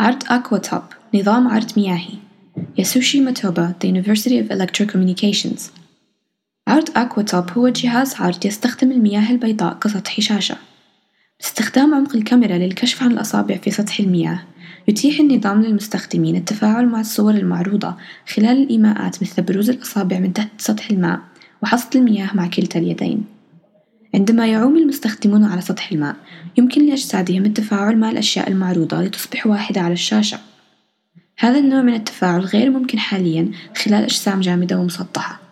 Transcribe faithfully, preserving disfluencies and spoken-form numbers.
عرض أكواتوب نظام عرض مياهي. ياسوشي ماتوبا The University of Electrocommunications. عرض أكواتوب هو جهاز عرض يستخدم المياه البيضاء كسطح شاشة. باستخدام عمق الكاميرا للكشف عن الأصابع في سطح المياه، يتيح النظام للمستخدمين التفاعل مع الصور المعروضة خلال الإيماءات مثل بروز الأصابع من تحت سطح الماء وحصد المياه مع كلتا اليدين. عندما يعوم المستخدمون على سطح الماء، يمكن لأجسادهم التفاعل مع الأشياء المعروضة لتصبح واحدة على الشاشة. هذا النوع من التفاعل غير ممكن حالياً خلال أجسام جامدة ومسطحة.